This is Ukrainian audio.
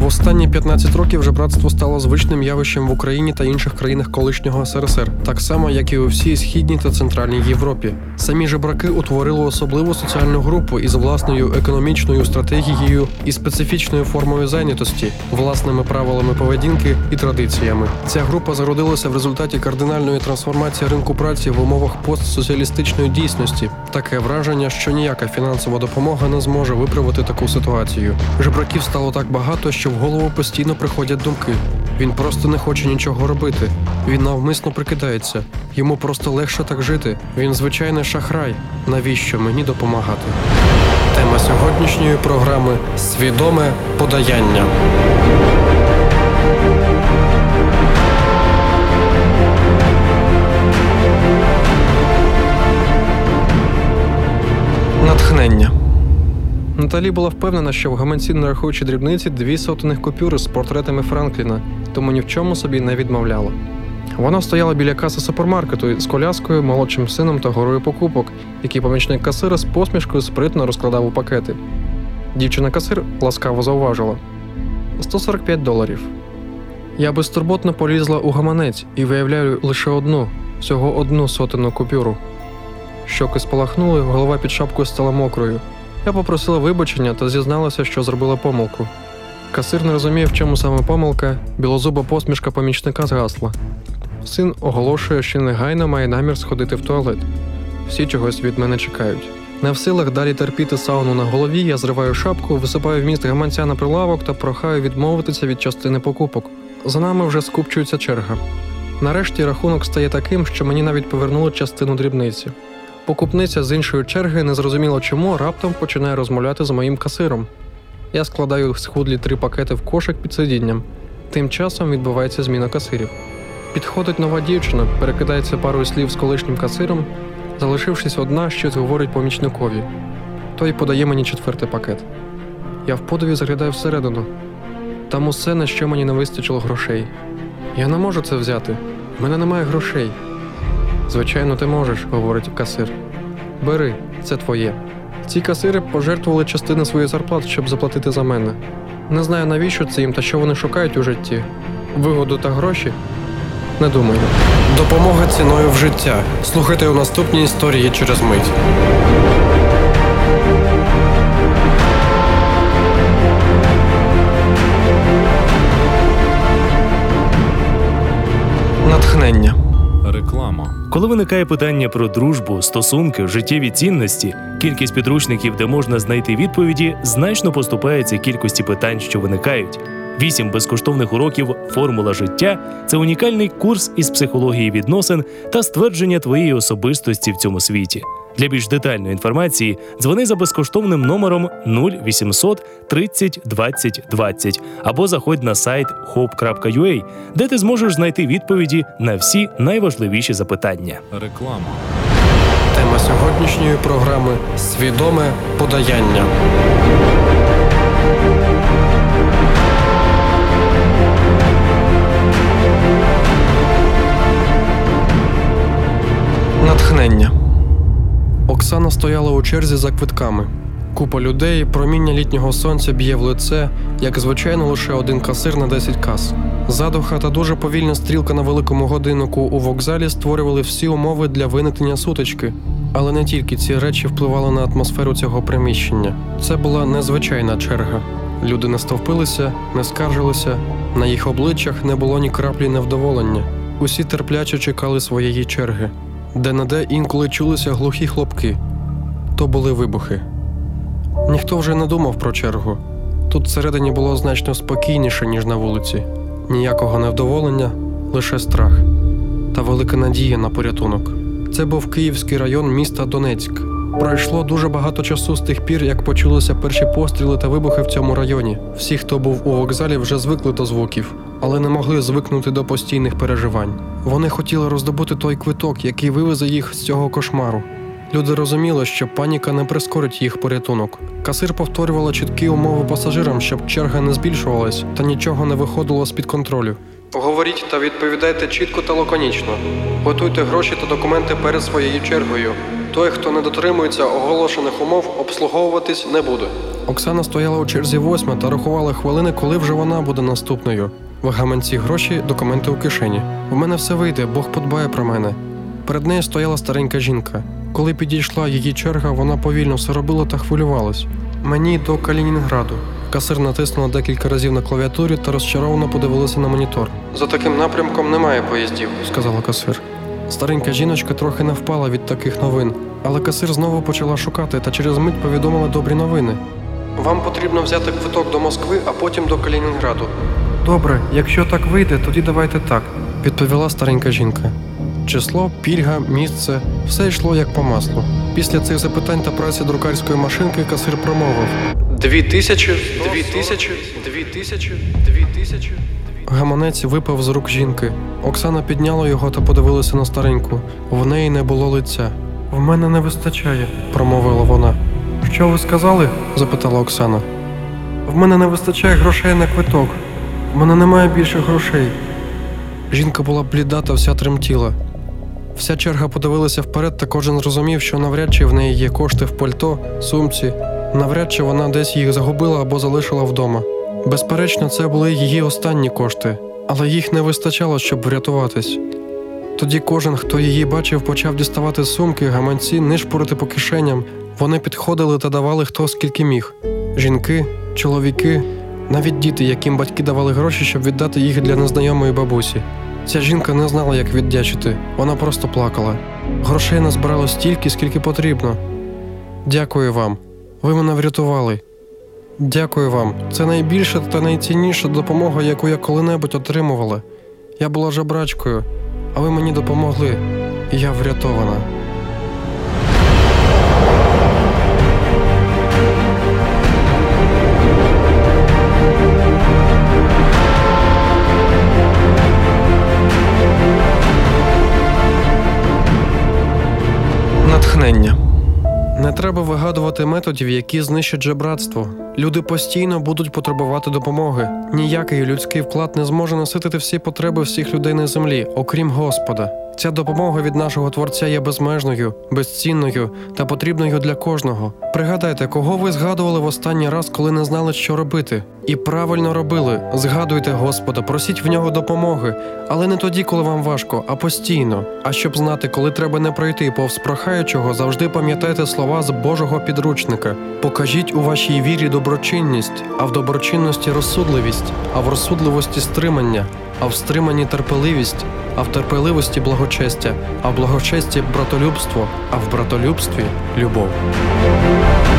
останні 15 років жебратство стало звичним явищем в Україні та інших країнах колишнього СРСР, так само, як і у всій Східній та Центральній Європі. Самі жебраки утворили особливу соціальну групу із власною економічною стратегією і специфічною формою зайнятості, власними правилами поведінки і традиціями. Ця група зародилася в результаті кардинальної трансформації ринку праці в умовах постсоціалістичної дійсності. Таке враження, що ніяка фінансова допомога не зможе виправити таку ситуацію. Жебраків стало так багато, що в голову постійно приходять думки. Він просто не хоче нічого робити. Він навмисно прикидається. Йому просто легше так жити. Він звичайний шахрай. Навіщо мені допомагати? Тема сьогоднішньої програми – свідоме подаяння. Натхнення. Наталі була впевнена, що в гаманці, нарахуючи дрібниці, 2 сотенних купюри з портретами Франкліна, тому ні в чому собі не відмовляла. Вона стояла біля каси супермаркету з коляскою, молодшим сином та горою покупок, які помічник касира з посмішкою спритно розкладав у пакети. Дівчина-касир ласкаво зауважила: $145. Я безтурботно полізла у гаманець і виявляю лише всього одну сотенну купюру. Щоки спалахнули, голова під шапкою стала мокрою. Я попросила вибачення та зізналася, що зробила помилку. Касир не розуміє, в чому саме помилка, білозуба посмішка помічника згасла. Син оголошує, що негайно має намір сходити в туалет. Всі чогось від мене чекають. Не в силах далі терпіти сауну на голові, я зриваю шапку, висипаю вміст гаманця на прилавок та прохаю відмовитися від частини покупок. За нами вже скупчується черга. Нарешті рахунок стає таким, що мені навіть повернули частину дрібниці. Покупниця з іншої черги, незрозуміло чому, раптом починає розмовляти з моїм касиром. Я складаю схудлі 3 пакети в кошик під сидінням. Тим часом відбувається зміна касирів. Підходить нова дівчина, перекидається парою слів з колишнім касиром, залишившись одна, щось говорить помічникові. Той подає мені 4-й пакет. Я в подиві заглядаю всередину. Там усе, на що мені не вистачило грошей. Я не можу це взяти. В мене немає грошей. «Звичайно, ти можеш», – говорить касир. «Бери, це твоє». Ці касири пожертвували частину своїх зарплат, щоб заплатити за мене. Не знаю, навіщо це їм та що вони шукають у житті. Вигоду та гроші? Не думаю. Допомога ціною в життя. Слухайте у наступній історії через мить. Натхнення. Реклама. Коли виникає питання про дружбу, стосунки, життєві цінності, кількість підручників, де можна знайти відповіді, значно поступається кількості питань, що виникають. 8 безкоштовних уроків «Формула життя» – це унікальний курс із психології відносин та ствердження твоєї особистості в цьому світі. Для більш детальної інформації дзвони за безкоштовним номером 0800 30 20 20 або заходь на сайт hope.ua, де ти зможеш знайти відповіді на всі найважливіші запитання. Реклама. Тема сьогоднішньої програми – свідоме подаяння. Натхнення. Оксана стояла у черзі за квитками. Купа людей, проміння літнього сонця б'є в лице, як звичайно лише один касир на 10 кас. Задуха та дуже повільна стрілка на великому годиннику у вокзалі створювали всі умови для виникнення сутички. Але не тільки ці речі впливали на атмосферу цього приміщення. Це була незвичайна черга. Люди не стовпилися, не скаржилися, на їх обличчях не було ні краплі невдоволення. Усі терпляче чекали своєї черги. Де-не-де інколи чулися глухі хлопки. То були вибухи. Ніхто вже не думав про чергу. Тут всередині було значно спокійніше, ніж на вулиці. Ніякого невдоволення, лише страх. Та велика надія на порятунок. Це був Київський район міста Донецьк. Пройшло дуже багато часу з тих пір, як почулися перші постріли та вибухи в цьому районі. Всі, хто був у вокзалі, вже звикли до звуків, але не могли звикнути до постійних переживань. Вони хотіли роздобути той квиток, який вивезе їх з цього кошмару. Люди розуміли, що паніка не прискорить їх порятунок. Касир повторювала чіткі умови пасажирам, щоб черга не збільшувалась та нічого не виходило з-під контролю. Говоріть та відповідайте чітко та лаконічно. Готуйте гроші та документи перед своєю чергою. Той, хто не дотримується оголошених умов, обслуговуватись не буде. Оксана стояла у черзі 8 та рахувала хвилини, коли вже вона буде наступною. В гаманці гроші, документи у кишені. В мене все вийде, Бог подбає про мене. Перед нею стояла старенька жінка. Коли підійшла її черга, вона повільно все робила та хвилювалась. Мені до Калінінграду. Касир натиснула декілька разів на клавіатурі та розчаровано подивилася на монітор. За таким напрямком немає поїздів, сказала касир. Старенька жіночка трохи не впала від таких новин, але касир знову почала шукати та через мить повідомила добрі новини. Вам потрібно взяти квиток до Москви, а потім до Калінінграду. Добре, якщо так вийде, тоді давайте так, відповіла старенька жінка. Число, пільга, місце – все йшло як по маслу. Після цих запитань та праці друкарської машинки касир промовив: 2000. Гаманець випав з рук жінки. Оксана підняла його та подивилася на стареньку. В неї не було лиця. «В мене не вистачає», – промовила вона. «Що ви сказали?» – запитала Оксана. «В мене не вистачає грошей на квиток. В мене немає більше грошей». Жінка була бліда та вся тремтіла. Вся черга подивилася вперед, та кожен зрозумів, що навряд чи в неї є кошти в пальто, сумці, навряд чи вона десь їх загубила або залишила вдома. Безперечно, це були її останні кошти, але їх не вистачало, щоб врятуватись. Тоді кожен, хто її бачив, почав діставати сумки, гаманці, нишпорити по кишеням. Вони підходили та давали хто скільки міг. Жінки, чоловіки, навіть діти, яким батьки давали гроші, щоб віддати їх для незнайомої бабусі. Ця жінка не знала, як віддячити, вона просто плакала. Грошей назбирало стільки, скільки потрібно. Дякую вам. Ви мене врятували. Дякую вам. Це найбільша та найцінніша допомога, яку я коли-небудь отримувала. Я була жебрачкою, а ви мені допомогли. І я врятована. Натхнення. Не треба вигадувати методів, які знищать жебратство. Люди постійно будуть потребувати допомоги. Ніякий людський вклад не зможе наситити всі потреби всіх людей на землі, окрім Господа. Ця допомога від нашого Творця є безмежною, безцінною та потрібною для кожного. Пригадайте, кого ви згадували в останній раз, коли не знали, що робити. І правильно робили. Згадуйте Господа, просіть в нього допомоги. Але не тоді, коли вам важко, а постійно. А щоб знати, коли треба не пройти повз прохаючого, завжди пам'ятайте слова з Божого підручника. Покажіть у вашій вірі доброчинність, а в доброчинності розсудливість, а в розсудливості стримання, а в стриманні терпеливість, а в терпеливості благочестя, а в благочесті братолюбство, а в братолюбстві любов.